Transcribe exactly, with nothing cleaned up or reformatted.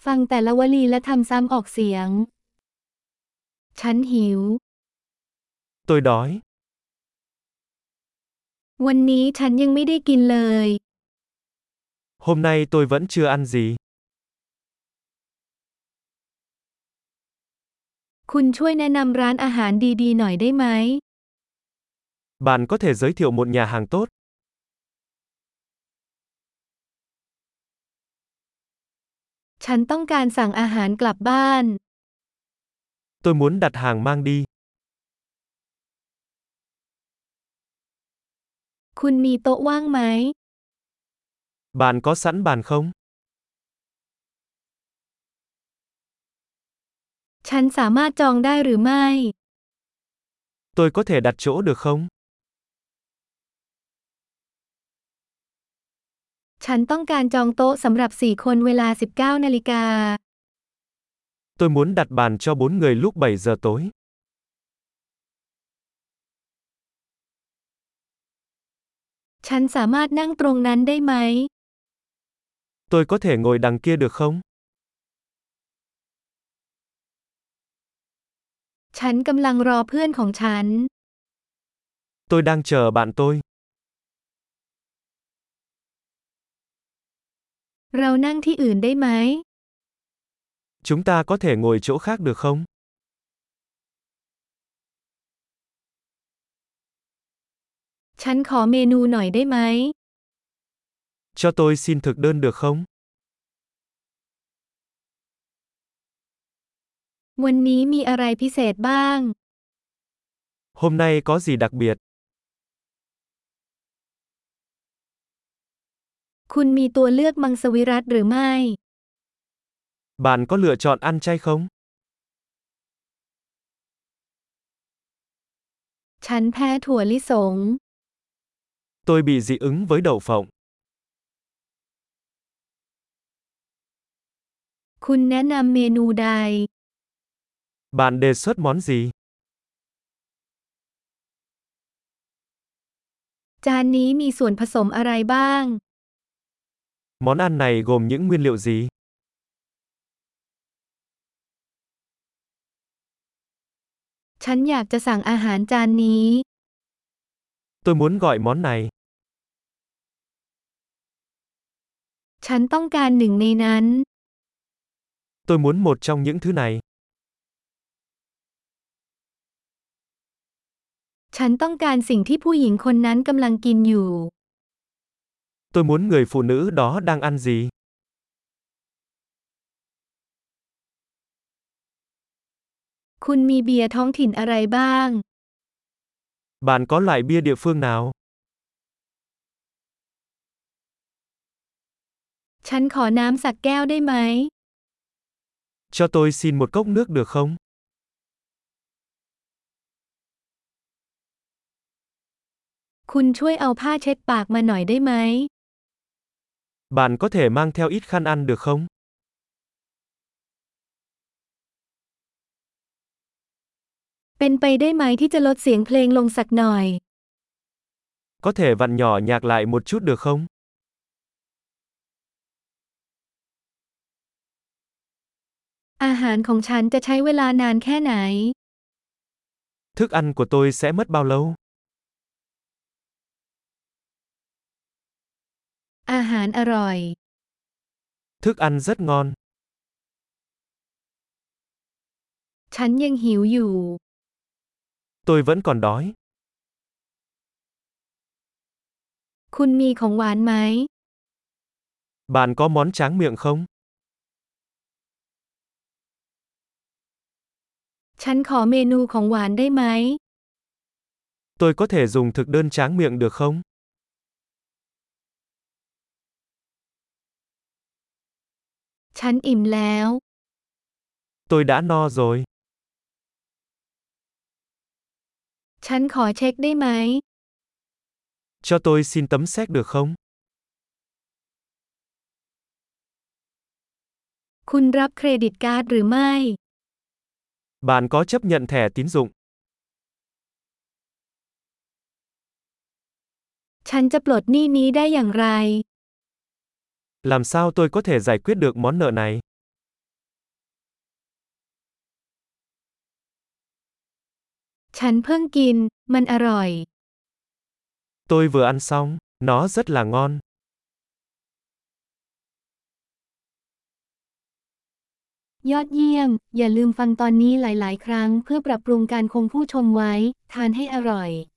ฟังแต่ละวลีและทำซ้ำออกเสียง ฉันหิว Tôi đói. วันนี้ฉันยังไม่ได้กินเลย Hôm nay tôi vẫn chưa ăn gì. คุณช่วยแนะนำร้านอาหารดีๆหน่อยได้ไหม Bạn có thể giới thiệu một nhà hàng tốt. ฉันต้องการสั่งอาหารกลับบ้าน Tôi muốn đặt hàng mang đi. คุณมีโต๊ะว่างไหม Bạn có sẵn bàn không? ฉันสามารถจองได้หรือไม่ Tôi có thể đặt chỗ được không? ฉันต้องการจองโต๊ะสำหรับสี่คนเวลา สิบเก้านาฬิกา Tôi muốn đặt bàn cho bốn người lúc bảy giờ tối. ฉันสามารถนั่งตรงนั้นได้ไหม Tôi có thể ngồi đằng kia được không? ฉันกำลังรอเพื่อนของฉัน Tôi đang chờ bạn tôi. เรานั่งที่อื่นได้ไหม Chúng ta có thể ngồi chỗ khác được không? ฉันขอเมนูหน่อยได้ไหม Cho tôi xin thực đơn được không? วันนี้มีอะไรพิเศษบ้าง Hôm nay có gì đặc biệt? คุณมีตัวเลือกมังสวิรัติหรือไม่ Bạn có lựa chọn ăn chay không? ฉันแพ้ถั่วลิสง Tôi bị dị ứng với đậu phộng. คุณแนะนำเมนูใด Bạn đề xuất món gì? จานนี้มีส่วนผสมอะไรบ้าง Món ăn này gồm những nguyên liệu gì? ฉันอยากจะสั่งอาหารจานนี้ Tôi muốn gọi món này. ฉันต้องการหนึ่งในนั้น Tôi muốn một trong những thứ này. ฉันต้องการสิ่งที่ผู้หญิงคนนั้นกำลังกินอยู่ Tôi muốn người phụ nữ đó đang ăn gì. คุณมีเบียร์ท้องถิ่นอะไรบ้าง Bạn có loại bia địa phương nào? ฉันขอน้ำสักแก้วได้ไหม Cho tôi xin một cốc nước được không? คุณช่วยเอาผ้าเช็ดปากมาหน่อยได้ไหม Bạn có thể mang theo ít khăn ăn được không? เป็นไปได้ไหมที่จะลดเสียงเพลงลงสักหน่อย Có thể vặn nhỏ nhạc lại một chút được không? อาหารของฉันจะใช้เวลานานแค่ไหน Thức ăn của tôi sẽ mất bao lâu? อาหารอร่อย Thức ăn rất ngon. ฉันยังหิวอยู่ Tôi vẫn còn đói. คุณมีของหวานไหม Bạn có món tráng miệng không? ฉันขอเมนูของหวานได้ไหม Tôi có thể dùng thực đơn tráng miệng được không? ฉันอิ่มแล้ว Tôi đã no rồi. ฉันขอเช็คได้ไหม Cho tôi xin tấm séc được không? คุณรับเครดิตการ์ดหรือไม่ Bạn có chấp nhận thẻ tín dụng? ฉันจะปลดหนี้นี้ได้อย่างไร Làm sao tôi có thể giải quyết được món nợ này? ฉันเพิ่งกิน มันอร่อย Tôi vừa ăn xong, nó rất là ngon. ยอดเยี่ยม อย่าลืมฟังตอนนี้หลายๆ ครั้งเพื่อปรับปรุงการคงผู้ชมไว้ ทานให้อร่อย